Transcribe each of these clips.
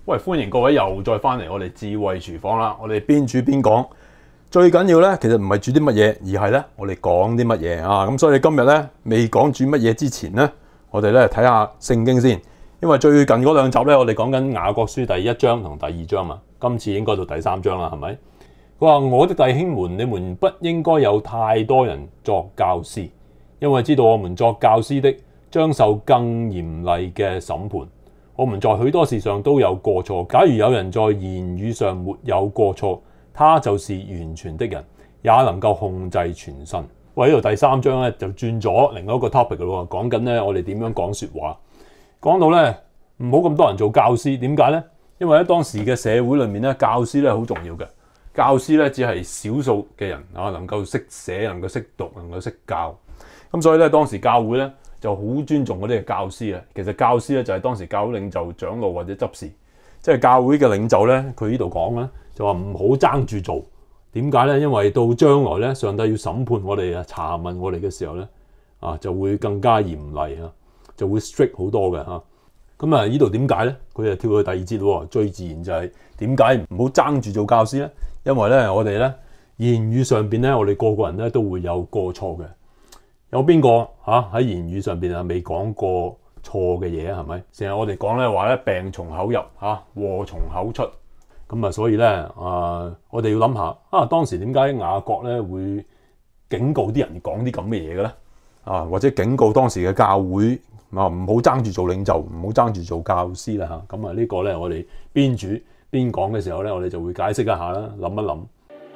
喂，歡迎各位又再翻嚟我哋智慧廚房啦！我哋邊煮邊講，最緊要咧，其實唔係煮啲乜嘢，而係咧我哋講啲乜嘢啊！咁所以今日咧未講煮乜嘢之前咧，我哋咧睇下聖經先，因為最近嗰兩集咧，我哋講緊雅各書第1章同第2章嘛，今次應該到第3章啦，係咪？佢話：我的弟兄們，你們不應該有太多人作教師，因為知道我們作教師的將受更嚴厲嘅審判。我們在許多事上都有過錯，假如有人在言語上沒有過錯，他就是完全的人，也能夠控制全身。喂，呢度第3章咧就轉咗另外一個 topic 嘅咯，講緊咧我哋點樣講說話，講到咧唔好咁多人做教師，點解咧？因為喺當時嘅社會裏面咧，教師咧好重要嘅，教師咧只係少數嘅人啊，能夠識寫，能夠識讀，能夠識教，咁所以咧當時教會咧就好尊重嗰啲嘅教師啊。其實教師咧就係當時教會領袖、長老或者執事，即係教會嘅領袖咧。佢呢度講咧就話唔好爭住做。點解咧？因為到將來咧，上帝要審判我哋啊，查問我哋嘅時候咧啊，就會更加嚴厲啊，就會 strict 好多嘅嚇。咁啊，呢度點解咧？佢就跳去第2節喎。最自然就係點解唔好爭住做教師咧？因為咧我哋咧言語上邊咧，我哋個個人咧都會有過錯嘅。有邊個喺言語上邊啊未講過錯嘅嘢啊？係咪？成日我哋講咧話咧，病從口入禍從口出。咁啊，所以咧我哋要諗下當時點解雅各咧會警告啲人講啲咁嘅嘢嘅咧？或者警告當時嘅教會唔好爭住做領袖，唔好爭住做教師啦嚇。咁啊呢個咧我哋邊煮邊講嘅時候咧，我哋就會解釋一下啦，諗一諗。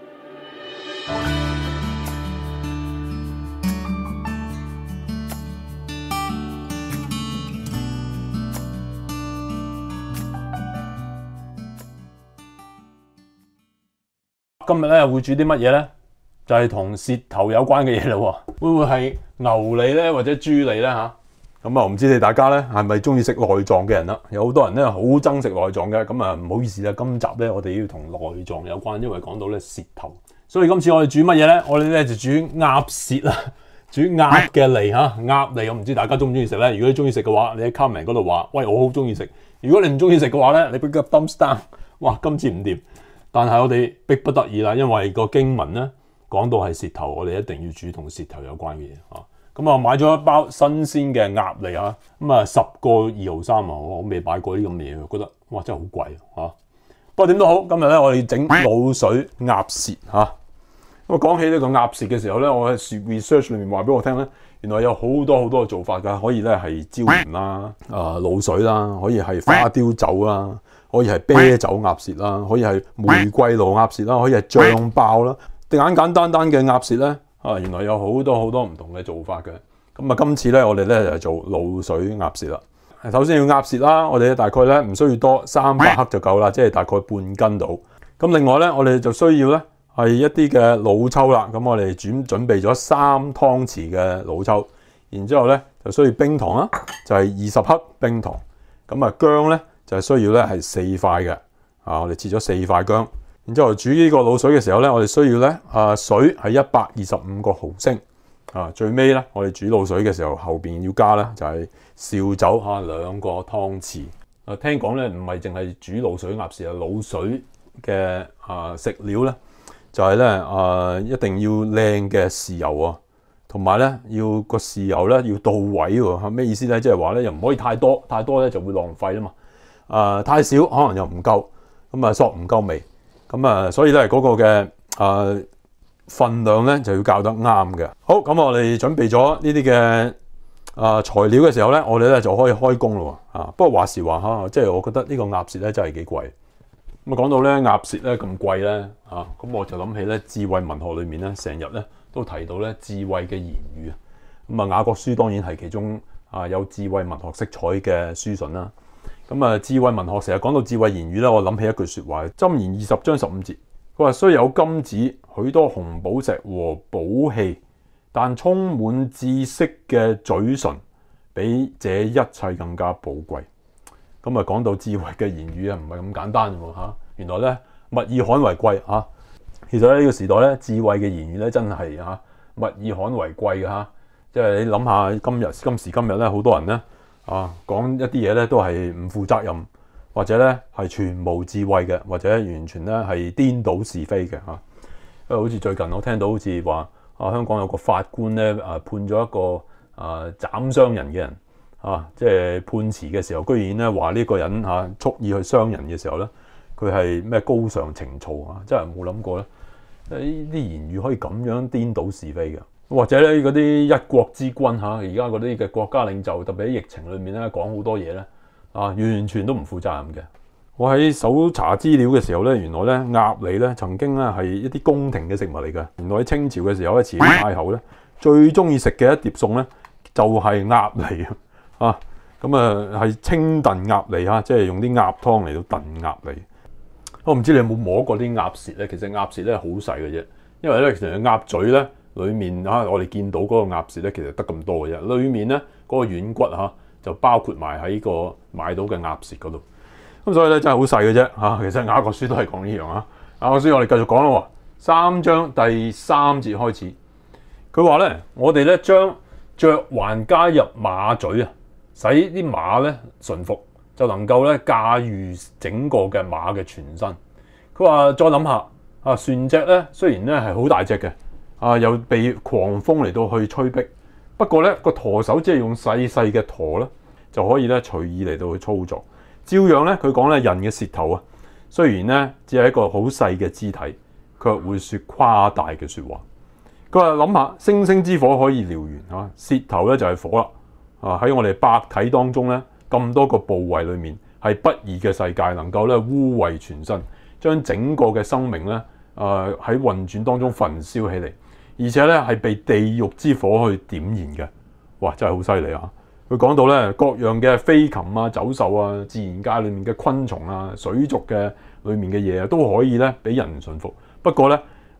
今日咧會煮啲乜嘢咧？就係同舌頭有關嘅嘢咯。會唔會係牛脷咧，或者豬脷咧嚇？咁啊，我唔知你大家咧係咪中意食內臟嘅人啦？有好多人咧好憎食內臟嘅。咁啊，唔好意思啦，今集咧我哋要同內臟有關，因為講到咧舌頭。所以今次我哋煮乜嘢咧？我哋咧就煮鴨舌啦，煮鴨嘅脷嚇。鴨脷我唔知大家中唔中意食咧。如果你中意食嘅話，你喺 comment 嗰度話：喂，我好中意食。如果你唔中意食嘅話咧，你俾個 thumbs down。哇，今次唔掂。但係我哋逼不得已啦，因為個經文咧講到係舌頭，我哋一定要煮同舌頭有關嘅嘢啊。咁啊，買咗一包新鮮嘅鴨脷啊，咁啊10個2毫3啊，我未買過啲咁嘅嘢，覺得哇真係好貴啊。不過點都好，今日咧我哋整滷水鴨舌嚇。咁啊講起呢個鴨舌嘅時候咧，我喺 research 裏面話俾我聽咧，原來有好多嘅做法㗎，可以咧係椒鹽啦、滷水啦，可以係花雕酒啦。可以係啤酒鴨舌啦，可以係玫瑰露鴨舌啦，可以係醬爆啦，簡簡單單嘅鴨舌咧原來有好多唔同嘅做法嘅。咁啊，今次咧我哋咧就做滷水鴨舌啦。首先要鴨舌啦，我哋大概咧唔需要多300克就夠啦，即係大概半斤到。咁另外咧，我哋就需要咧係一啲嘅老抽啦。咁我哋準備咗3湯匙嘅老抽，然之後咧就需要冰糖啦，就係20克冰糖。咁啊薑咧，就係需要咧係4塊嘅，我哋切咗4塊薑，然之後煮呢個滷水嘅時候咧，我哋需要咧水係125個毫升，最尾咧我哋煮滷水嘅時候後邊要加咧就係紹酒2個湯匙。聽講咧唔係淨係煮滷水鴨舌啊，滷水嘅食料咧就係咧一定要靚嘅豉油啊，同埋咧要個豉油咧要到位喎。咩意思咧？即係話咧又唔可以太多，太多咧就會浪費啊嘛。太少可能又唔夠，咁啊索唔夠味，咁啊所以咧嗰個嘅份量咧就要校得啱嘅。好，咁我哋準備咗呢啲嘅材料嘅時候咧，我哋咧就可以開工咯。不過話時話嚇，即係我覺得呢個鴨舌咧真係幾貴。咁啊講到咧鴨舌咧咁貴咧咁我就諗起咧智慧文學裏面咧成日咧都提到咧智慧嘅言語啊。咁啊雅各書當然係其中有智慧文學色彩嘅書信啦。咁啊，智慧文學成日講到智慧言語咧，我諗起一句說話，箴言20章15節，佢話雖有金子、許多紅寶石和寶器，但充滿知識嘅嘴唇，比這一切更加寶貴。咁啊，講到智慧嘅言語啊，唔係咁簡單喎嚇。原來咧，物以罕為貴嚇。其實咧呢個時代咧，智慧嘅言語咧真係物以罕為貴嘅嚇。即係你諗下今時今日咧，好多人咧。講一啲嘢咧都係唔負責任， 或者咧係全無智慧嘅，或者完全咧係顛倒是非嘅嚇。因為好似最近我聽到好似話香港有個法官咧判咗一個斬傷人嘅人即係判詞嘅時候，居然咧話呢個人蓄意去傷人嘅時候咧，佢係咩高尚情操真係冇諗過咧，呢啲言語可以咁樣顛倒是非嘅。或者咧嗰啲一國之君而家嗰啲嘅國家領袖，特別喺疫情裏面咧講好多嘢咧完全都唔負責任嘅。我喺搜查資料嘅時候咧，原來咧鴨脷咧曾經咧係一啲宮廷嘅食物嚟嘅。原來喺清朝嘅時候咧，慈禧太后咧最中意食嘅一碟餸咧就係鴨脷咁係清燉鴨脷即係用啲鴨湯嚟到燉鴨脷。我唔知你有冇摸過啲鴨舌咧？其實鴨舌咧好細嘅啫，因為咧其實鴨嘴咧裡面我哋見到嗰個鴨舌咧其實得咁多嘅啫，裡面咧嗰個軟骨就包括埋喺個買到嘅鴨舌嗰度。咁所以咧真係好細嘅啫其實雅各書都係講呢樣雅各書我哋繼續講咯，3章第3節開始，佢話咧我哋咧將嚼環加入馬嘴使啲馬咧馴服，就能夠咧駕馭整個嘅馬嘅全身。佢話再諗下船隻咧雖然咧係好大隻嘅又被狂風嚟到去吹逼，不過咧個舵手只係用細細嘅舵咧就可以咧隨意嚟到去操作。照樣咧，佢講咧人嘅舌頭雖然咧只係一個好細嘅肢體，卻會說誇大嘅説話。佢話諗下，星星之火可以燎原舌頭咧就係火啦喺我哋百體當中咧咁多個部位裏面，係不義嘅世界，能夠咧污穢全身，將整個嘅生命咧喺運轉當中焚燒起嚟，而且咧係被地獄之火去點燃嘅。哇！真係好犀利佢講到咧各樣嘅飛禽走獸自然界裏面嘅昆蟲水族嘅裏面嘅嘢都可以咧俾人馴服。不過咧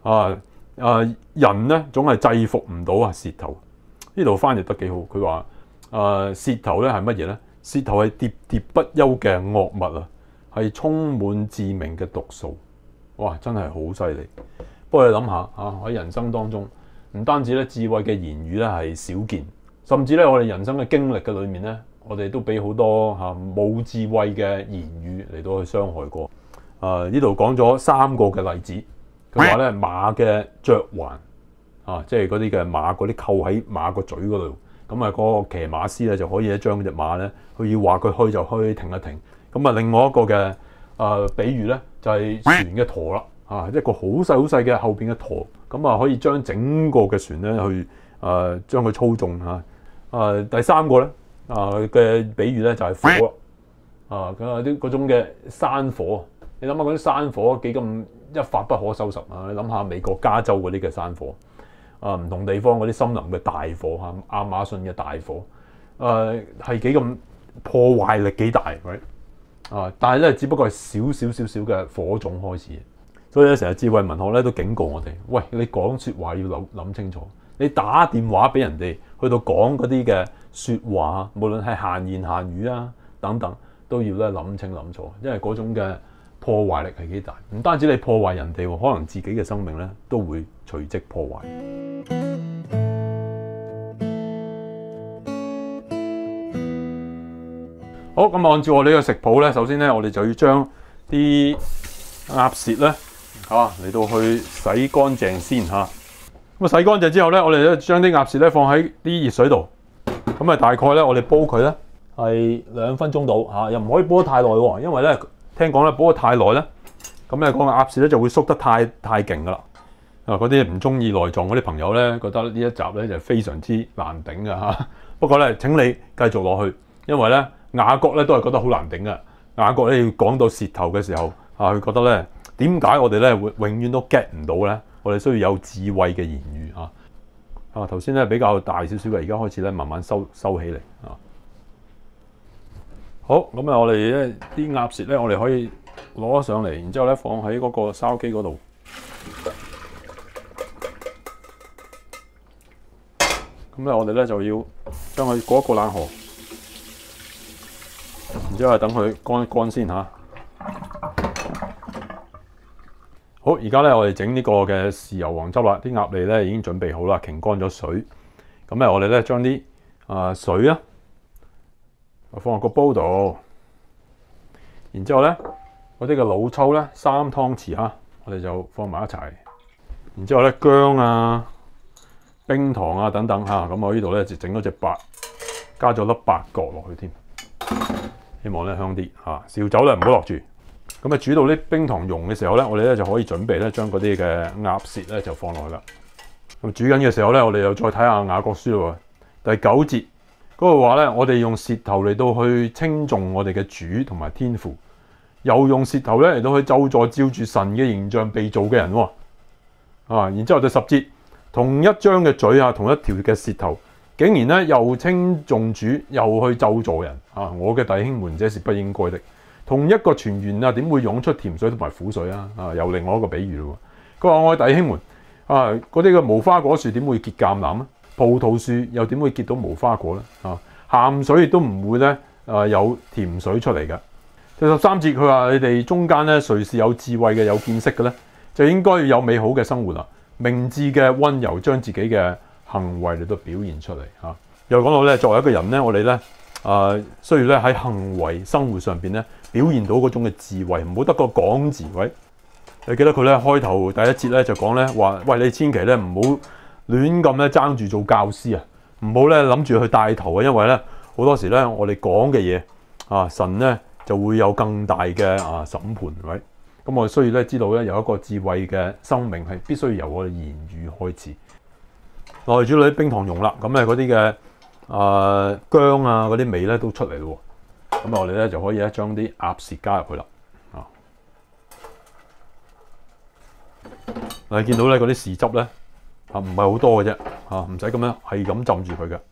人咧總係制服唔到舌頭。呢度翻譯得幾好，佢話舌頭咧係乜嘢咧？舌頭係喋喋不休嘅惡物係充滿致命嘅毒素。哇！真係好犀利。不過你諗下喺人生當中，唔單止咧智慧嘅言語咧係少見。甚至咧，我哋人生嘅經歷嘅裏面咧，我哋都俾好多冇智慧嘅言語嚟到去傷害過。呢度講咗3個嘅例子。佢話咧馬嘅嚼環即係嗰啲嘅馬嗰啲扣喺馬個嘴嗰度，咁嗰個騎馬師咧就可以咧將隻馬咧，佢要話佢去就去，停一停。咁另外一個嘅比喻咧就係船嘅舵啦，一個好細好細嘅後邊嘅舵，咁可以將整個嘅船咧去將佢操縱第3個咧嘅比喻咧就係火佢話啲嗰種嘅山火，你諗下嗰啲山火幾咁一發不可收拾你諗下美國加州嗰啲嘅山火唔同地方嗰啲森林嘅大火亞馬遜嘅大火係幾咁破壞力幾大但係咧只不過係少嘅火種開始，所以咧成日智慧文學咧都警告我哋，喂，你講說話要諗清楚。你打電話俾人哋，去到講嗰啲嘅説話，無論係閒言閒語等等，都要咧諗清諗楚，因為嗰種嘅破壞力係幾大。唔單止你破壞人哋，可能自己嘅生命咧都會隨即破壞。好，咁按照我呢個食譜咧，首先咧我哋就要將啲鴨舌咧嚟到去洗乾淨先咁洗乾淨之後咧，我哋咧將啲鴨舌咧放喺啲熱水度，咁大概咧我哋煲佢咧係2分鐘到又唔可以煲得太耐喎，因為咧聽講咧煲得太耐咧，咁咧個鴨舌咧就會縮得太勁噶啦。嗰啲唔中意內臟嗰啲朋友咧，覺得呢一集咧就非常之難頂㗎。不過咧請你繼續落去，因為咧雅各咧都係覺得好難頂嘅。雅各咧要講到舌頭嘅時候佢覺得咧點解我哋咧會永遠都 get 唔到咧？我哋需要有智慧嘅言語頭先咧比較大少少嘅，而家開始咧慢慢收起嚟好，咁我哋咧啲鴨舌咧，我哋可以攞咗上嚟，然之後咧放喺嗰個燒機嗰度。咁咧我哋咧就要將佢過一個冷河，然之後等佢乾一乾先好，而家咧我哋整呢個嘅豉油黃汁啦，啲鴨脷咧已經準備好啦，擎乾咗水。咁咧我哋咧將啲水放落個煲度， 然之後咧，嗰啲嘅老抽咧3湯匙嚇，我哋就放埋一齊。然之後咧，薑啊、冰糖啊等等嚇，咁我呢度咧就整咗隻八，加咗粒八角落去添，希望咧香啲嚇。紹酒咧唔好落住。咁啊煮到啲冰糖溶嘅時候咧，我哋咧就可以準備咧將嗰啲嘅鴨舌咧就放落去啦。咁煮緊嘅時候咧，我哋又再睇下雅各書喎。第9節嗰個話咧，我哋用舌頭嚟到去稱頌我哋嘅主同埋天父，又用舌頭咧嚟到去咒詛照住神嘅形象被造嘅人喎。然之後第10節，同一張嘅嘴啊，同一條嘅舌頭，竟然咧又稱頌主，又去咒詛人啊！我嘅弟兄們，這是不應該的。同一個泉源啊，點會湧出甜水同埋苦水啊？又另外一個比喻咯。佢話：我嘅弟兄們嗰啲嘅無花果樹點會結橄欖啊？葡萄樹又點會結到無花果咧？鹹水亦都唔會咧有甜水出嚟嘅。第13節佢話：你哋中間咧，誰是有智慧嘅、有見識嘅咧，就應該要有美好嘅生活啦。明智嘅溫柔，將自己嘅行為嚟到表現出嚟嚇。又講到咧，作為一個人咧，我哋咧需要咧喺行為生活上邊咧表現到嗰種嘅智慧，唔好得個講字位。你記得佢咧開頭第一節咧就講咧話：喂，你千祈咧唔好亂咁咧爭住做教師啊，唔好咧諗住去帶頭啊，因為咧好多時咧我哋講嘅嘢神咧就會有更大嘅審判，係咪？咁我哋需要咧知道咧有一個智慧嘅生命係必須由我哋言語開始。內煮到啲冰糖溶啦，咁咧嗰啲嘅薑啊嗰啲味咧都出嚟咯。咁我哋咧就可以咧將啲鴨舌加入去啦。你見到咧嗰啲豉汁咧唔係好多嘅啫，唔使咁樣係咁浸住佢嘅。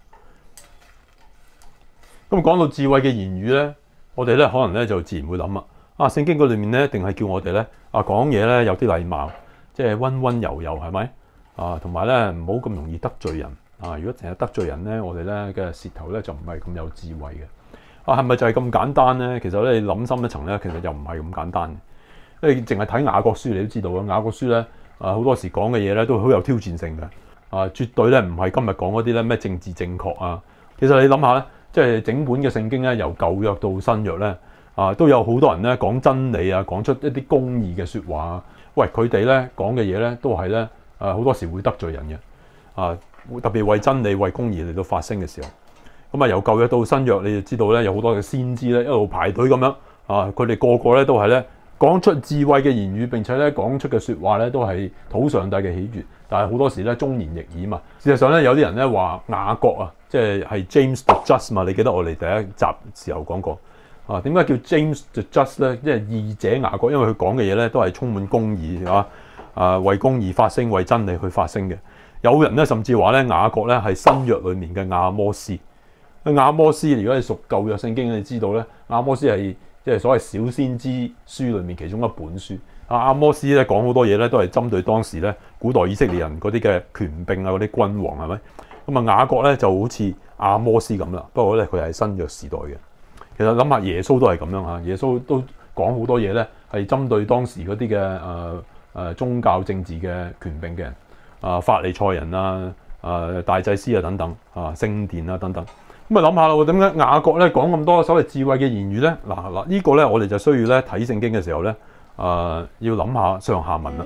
咁講到智慧嘅言語咧，我哋咧可能咧就自然會諗聖經嗰裏面咧，一定係叫我哋咧講嘢咧有啲禮貌，即係溫溫柔柔，係咪？同埋咧唔好咁容易得罪人。如果成日得罪人咧，我哋咧嘅舌頭咧就唔係咁有智慧嘅。係咪就係咁簡單咧？其實咧你諗深一層咧，其實又唔係咁簡單嘅。因為淨係睇雅各書你都知道啦，雅各書咧好多時講嘅嘢咧都好有挑戰性嘅。絕對咧唔係今日講嗰啲咧咩政治正確啊。其實你諗下咧，即係整本嘅聖經咧，由舊約到新約咧。都有好多人咧講真理啊，講出一啲公義嘅説話啊。喂，佢哋咧講嘅嘢咧都係咧好多時會得罪人嘅。特別為真理、為公義嚟到發聲嘅時候，咁由舊約到新約，你就知道咧有好多嘅先知咧一路排隊咁樣佢哋個個咧都係咧講出智慧嘅言語，並且咧講出嘅説話咧都係討上帝嘅喜悅。但係好多時咧忠言逆耳嘛。事實上咧有啲人咧話雅各即係 James the Just 嘛。你記得我哋第一集時候講過。點解叫 James the Just 咧？即係義者雅各，因為佢講嘅嘢咧都係充滿公義為公義發聲，為真理去發聲嘅。有人咧甚至話咧雅各咧係新約裡面嘅阿摩司。阿摩司如果你熟舊約聖經，你知道咧阿摩司係即係所謂小先知書裡面其中一本書。阿摩司咧講好多嘢咧都係針對當時咧古代以色列人嗰啲嘅權柄嗰啲君王，係咪？咁雅各咧就好似阿摩司咁啦，不過咧佢係新約時代嘅。其實諗下耶穌都係咁樣嚇，耶穌都講好多嘢咧，係針對當時嗰啲嘅宗教政治嘅權柄嘅人，法利賽人大祭司等等聖殿等等。咁諗下啦，點解雅各咧講咁多所謂智慧嘅言語咧？嗱呢個咧我哋就需要咧睇聖經嘅時候咧要諗下上下文啦。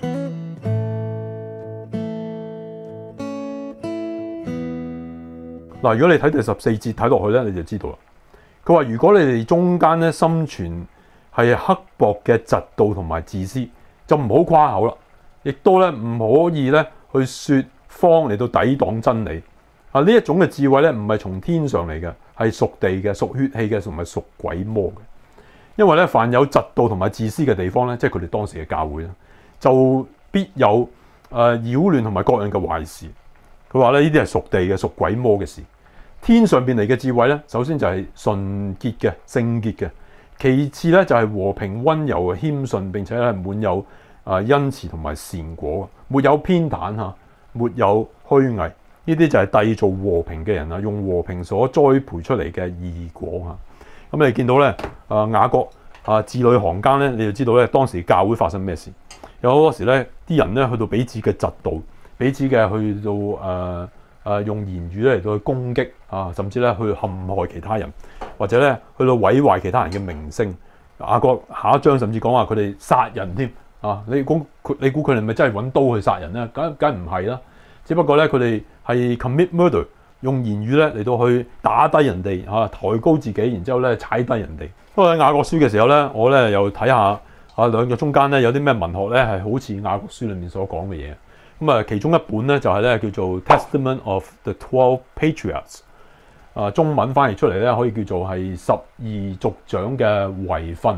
嗱，如果你睇第14節睇落去咧，你就知道啦。佢話：如果你哋中間咧心存係刻薄嘅嫉妒同埋自私，就唔好誇口啦，亦都咧唔可以咧去説謊嚟到抵擋真理。呢一種嘅智慧咧唔係從天上嚟嘅，係屬地嘅、屬血氣嘅，同埋屬鬼魔嘅。因為咧凡有嫉妒同埋自私嘅地方咧，即係佢哋當時嘅教會咧，就必有擾亂同埋各樣嘅壞事。佢話咧呢啲係屬地嘅、屬鬼魔嘅事。天上邊嚟嘅智慧咧，首先就係純潔嘅、聖潔嘅；其次咧就係和平、溫柔、謙遜，並且係滿有恩慈同埋善果，沒有偏袒沒有虛偽。呢啲就係締造和平嘅人用和平所栽培出嚟嘅義果。咁你見到咧雅各字裏行間咧，你就知道咧當時教會發生咩事。有好多時咧啲人咧去到彼此嘅嫉妒，彼此嘅去到用言語咧嚟到去攻擊甚至咧去陷害其他人，或者咧去到毀壞其他人嘅名聲。 雅各下一章甚至講話佢哋殺人添啊！你估佢哋咪真係揾刀去殺人咧？梗唔係啦，只不過咧佢哋係 commit murder， 用言語咧嚟到去打低人哋抬高自己，然之後咧踩低人哋。不過喺雅各書嘅時候咧，我咧又睇下兩個中間咧有啲咩文學咧係好似雅各書裏面所講嘅嘢。咁啊，其中一本咧就係咧叫做 Testament of the 12 Patriarchs， 中文翻譯出嚟咧可以叫做係12族長嘅遺訓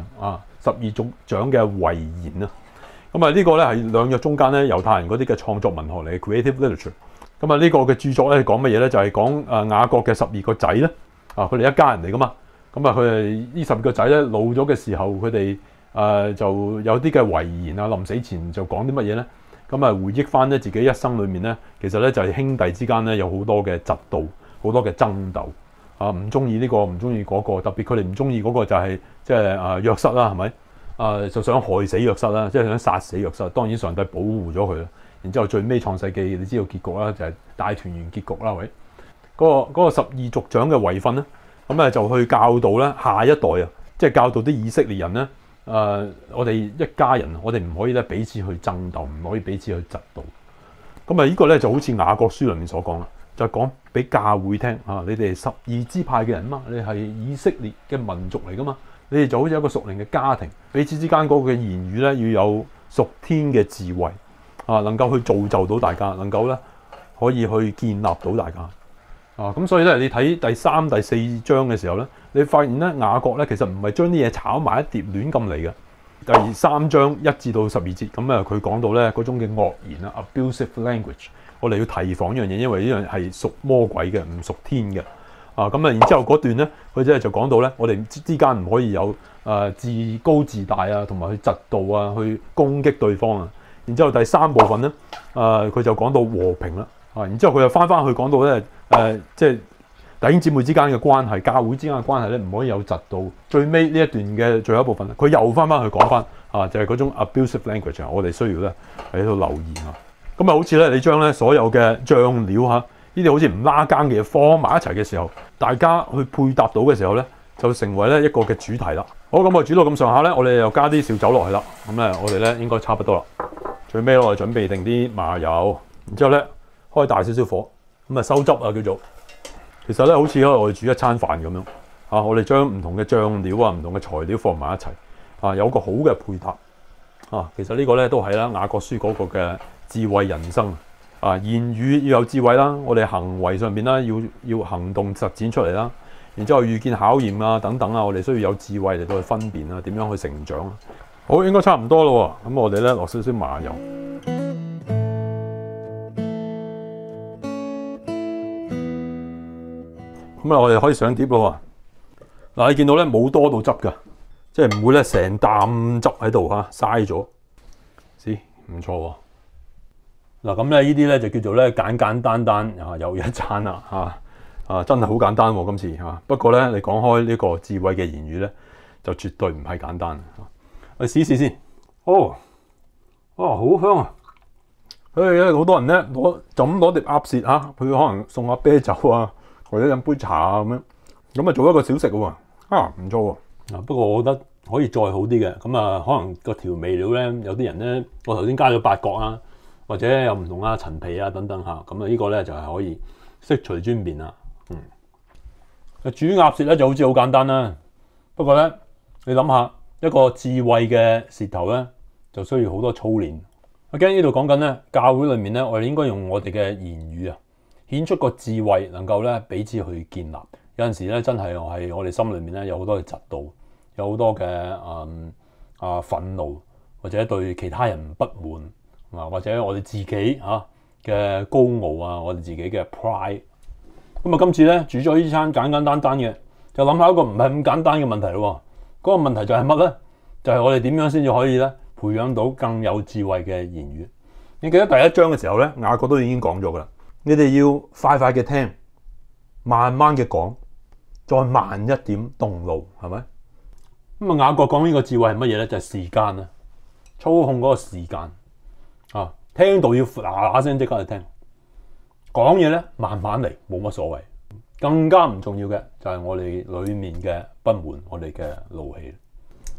12族長嘅遺言啊。咁啊，呢個咧係兩約中間咧猶太人嗰啲嘅創作文學嚟嘅 creative literature。咁啊，呢個嘅著作咧講乜嘢咧？就係講雅各嘅12個仔咧佢哋一家人嚟噶嘛。咁啊，佢哋呢12個仔咧老咗嘅時候，佢哋就有啲嘅遺言啊，臨死前就講啲乜嘢咧？咁啊，回憶翻咧自己一生裏面咧，其實咧就係兄弟之間咧有好多嘅嫉妒，好多嘅爭鬥唔中意呢個，唔中意嗰個，特別佢哋唔中意嗰個就係即係約瑟啦，係咪？就想害死約瑟啦，即係想殺死約瑟。當然上帝保護咗佢啦。然之後最尾創世記，你知道結局啦，就係大團圓結局啦，喂。嗰個12族長嘅遺訓咧，咁就去教導咧下一代啊，即係教導啲以色列人咧。我哋一家人，我哋唔可以咧彼此去爭鬥，唔可以彼此去嫉妒。咁呢個咧就好似雅各書裏面所講啦，就講俾教會聽你哋係12支派嘅人嘛，你係以色列嘅民族嚟噶嘛，你哋就好似一個屬靈嘅家庭，彼此之間嗰個嘅言語咧要有屬天嘅智慧能夠去造就到大家，能夠咧可以去建立到大家。咁所以咧，你睇第3、第4章嘅時候咧，你發現咧雅各咧其實唔係將啲嘢炒埋一碟亂咁嚟嘅。第3章1至到12節咁佢講到咧嗰種嘅惡言abusive language， 我哋要提防呢樣嘢，因為呢樣係屬魔鬼嘅，唔屬天嘅。然之後嗰段咧，佢就講到咧，我哋之間唔可以有自高自大同埋去嫉妒去攻擊對方啊。然之後第3部分咧，佢就講到和平啦。然之後佢又翻去講到咧，即係弟兄姊妹之間嘅關係，教會之間嘅關係咧，唔可以有嫉妒。最尾呢一段嘅最後一部分，佢又翻去講翻就係嗰種 abusive language，我哋需要咧喺度留意咁好似咧，你將咧所有嘅醬料呢啲好似唔拉更嘅嘢放埋一齊嘅時候，大家去配搭到嘅時候咧，就成為咧一個嘅主題啦。好，咁我煮到咁上下咧，我哋又加啲紹酒落去啦。咁咧，我哋咧應該差不多啦。最尾我哋準備定啲麻油，然之後咧開大少少火，咁收汁叫做。其實咧好似我哋煮一餐飯咁樣我哋將唔同嘅醬料唔同嘅材料放埋一齊有個好嘅配搭其實呢個咧都係啦雅各書嗰個嘅智慧人生言語要有智慧啦，我哋行為上邊啦要行動實踐出嚟啦，然之後遇見考驗等等我哋需要有智慧嚟到去分辨點樣去成長。好，應該差唔多咯，咁我哋咧落少少麻油。咁我哋可以上碟咯。嗱，你見到咧冇多到汁噶，即係唔會咧成啖汁喺度嘥咗。唔錯喎。嗱，咁咧呢啲咧就叫做咧簡簡單單又一餐啦真係好簡單喎今次不過咧你講開呢個智慧嘅言語咧，就絕對唔係簡單。我試試先。好香啊！好多人咧就咁攞碟鴨舌佢可能送下啤酒或者飲杯茶咁樣做一個小食喎，唔錯喎。不過我覺得可以再好啲嘅，咁可能個調味料咧，有啲人咧，我頭先加咗八角或者有唔同陳皮等等咁呢個咧就係可以悉隨尊便啦。煮鴨舌咧就好似好簡單啦，不過咧你諗下一個智慧嘅舌頭咧，就需要好多操練。我驚呢度講緊咧，教會裏面咧，我哋應該用我哋嘅言語顯出個智慧，能夠咧彼此去建立。有陣時咧，真係我哋心裏面咧有好多嘅嫉妒，有好多嘅憤怒，或者對其他人不滿或者我哋自己嘅高傲我哋自己嘅 pride。咁今次咧煮咗呢餐簡簡單單嘅，就諗下一個唔係咁簡單嘅問題咯。嗰個問題就係乜咧？就係我哋點樣先至可以咧培養到更有智慧嘅言語？你記得第1章嘅時候咧，雅各都已經講咗噶啦。你哋要快快嘅聽，慢慢嘅講，再慢一點動怒，係咪？咁雅各講呢個智慧係乜嘢咧？就係時間操控嗰個時間聽到要嗱嗱聲即刻去聽，講嘢咧慢慢嚟，冇乜所謂。更加唔重要嘅就係我哋裏面嘅不滿，我哋嘅怒氣。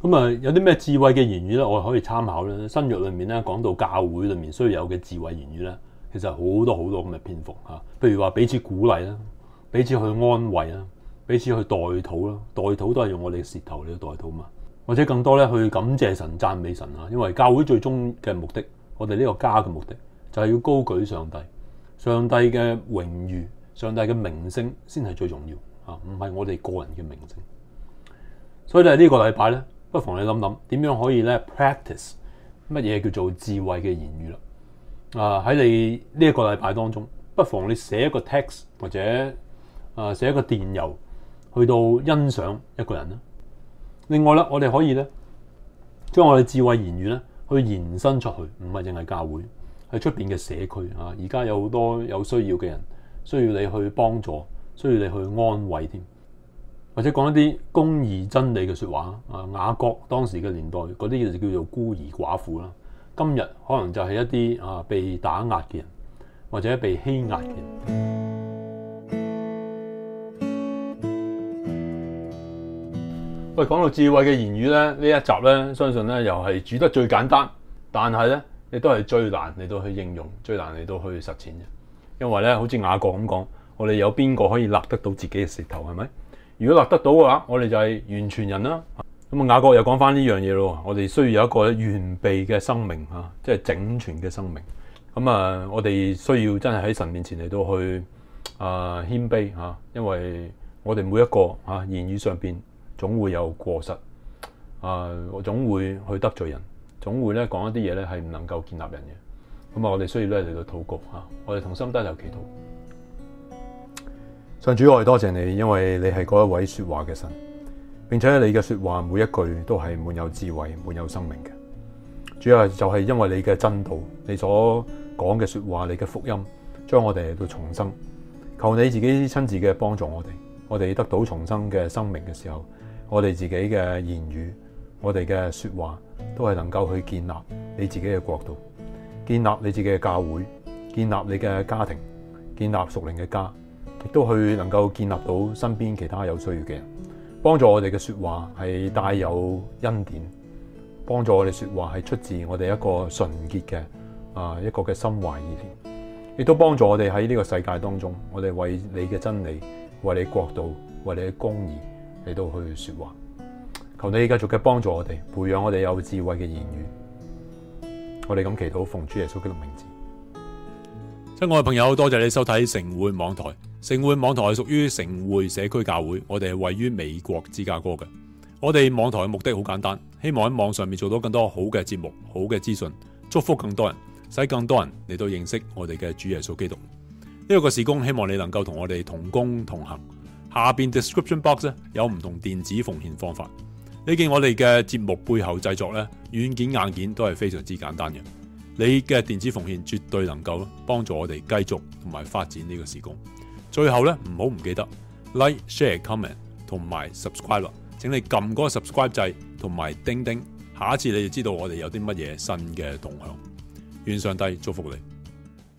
咁啊，有啲咩智慧嘅言語咧，我哋可以參考咧。新約裏面咧講到教會裏面需要有嘅智慧言語咧，其實好多咁嘅篇幅嚇。譬如話彼此鼓勵啦，彼此去安慰啦，彼此去代禱啦，代禱都係用我哋嘅舌頭嚟代禱嘛。或者更多咧去感謝神、讚美神啊，因為教會最終嘅目的，我哋呢個家嘅目的就係要高舉上帝，上帝嘅榮譽、上帝嘅名聲先係最重要啊，唔係我哋個人嘅名聲。所以咧呢個禮拜咧，不妨你諗諗點樣可以咧 practice 乜嘢叫做智慧嘅言語啦。喺你呢一個禮拜當中，不妨你寫一個 text 或者寫一個電郵去到欣賞一個人啦。另外咧，我哋可以咧將我哋智慧言語咧去延伸出去，唔係淨係教會，係出邊嘅社區啊。而家有好多有需要嘅人，需要你去幫助，需要你去安慰添。或者講一啲公義真理嘅說話啊，雅各當時嘅年代嗰啲就叫做孤兒寡婦啦。今日可能就係一啲被打壓嘅人，或者被欺壓嘅人。喂，講到智慧嘅言語咧，呢一集咧，相信咧又係煮得最簡單，但係咧亦都係最難嚟到去應用，最難嚟到去實踐嘅。因為咧，好似雅各咁講，我哋有邊個可以勒得到自己嘅舌頭，係咪？如果勒得到嘅話，我哋就係完全人啦。咁雅各又講翻呢樣嘢咯，我哋需要有一個完備嘅生命嚇，即係整全嘅生命。咁我哋需要真係喺神面前嚟到去謙卑嚇，因為我哋每一個言語上邊總會有過失我總會去得罪人，總會咧講一啲嘢咧係唔能夠建立人嘅。咁我哋需要咧嚟到禱告嚇，我哋同心低頭祈禱。上主，我哋多謝你，因為你係嗰一位說話嘅神，並且你嘅說話每一句都係滿有智慧、滿有生命嘅。主要就係因為你嘅真道，你所講嘅說話，你嘅福音，將我哋嚟到重生。求你自己親自嘅幫助我哋得到重生嘅生命嘅時候，我哋自己嘅言語，我哋嘅說話，都係能夠去建立你自己嘅國度，建立你自己嘅教會，建立你嘅家庭，建立屬靈嘅家。亦都去能夠建立到身邊其他有需要嘅人，幫助我哋嘅說話係帶有恩典，幫助我哋說話係出自我哋一個純潔嘅一個嘅心懷意念，亦都幫助我哋喺呢個世界當中，我哋為你嘅真理、為你國度、為你嘅公義嚟到去說話。求你繼續嘅幫助我哋，培養我哋有智慧嘅言語。我哋咁祈禱，奉主耶穌基督名字。親愛嘅朋友，多謝你收睇城滙網台。城滙網台係屬於城滙社區教會，我哋係位於美國芝加哥嘅。我哋網台嘅目的好簡單，希望喺網上面做到更多好嘅節目、好嘅資訊，祝福更多人，使更多人嚟到認識我哋嘅主耶穌基督。呢個事工希望你能夠同我哋同工同行。下邊 description box 咧有唔同電子奉獻方法。你見我哋嘅節目背後製作咧，軟件硬件都係非常之簡單嘅。你嘅電子奉獻絕對能夠幫助我哋繼續同埋發展呢個事工。最後咧，唔記得 like、share、comment 同埋 subscribe 啦。請你撳嗰個 subscribe 掣同埋叮叮，下一次你就知道我哋有啲乜嘢新嘅動向。願上帝祝福你。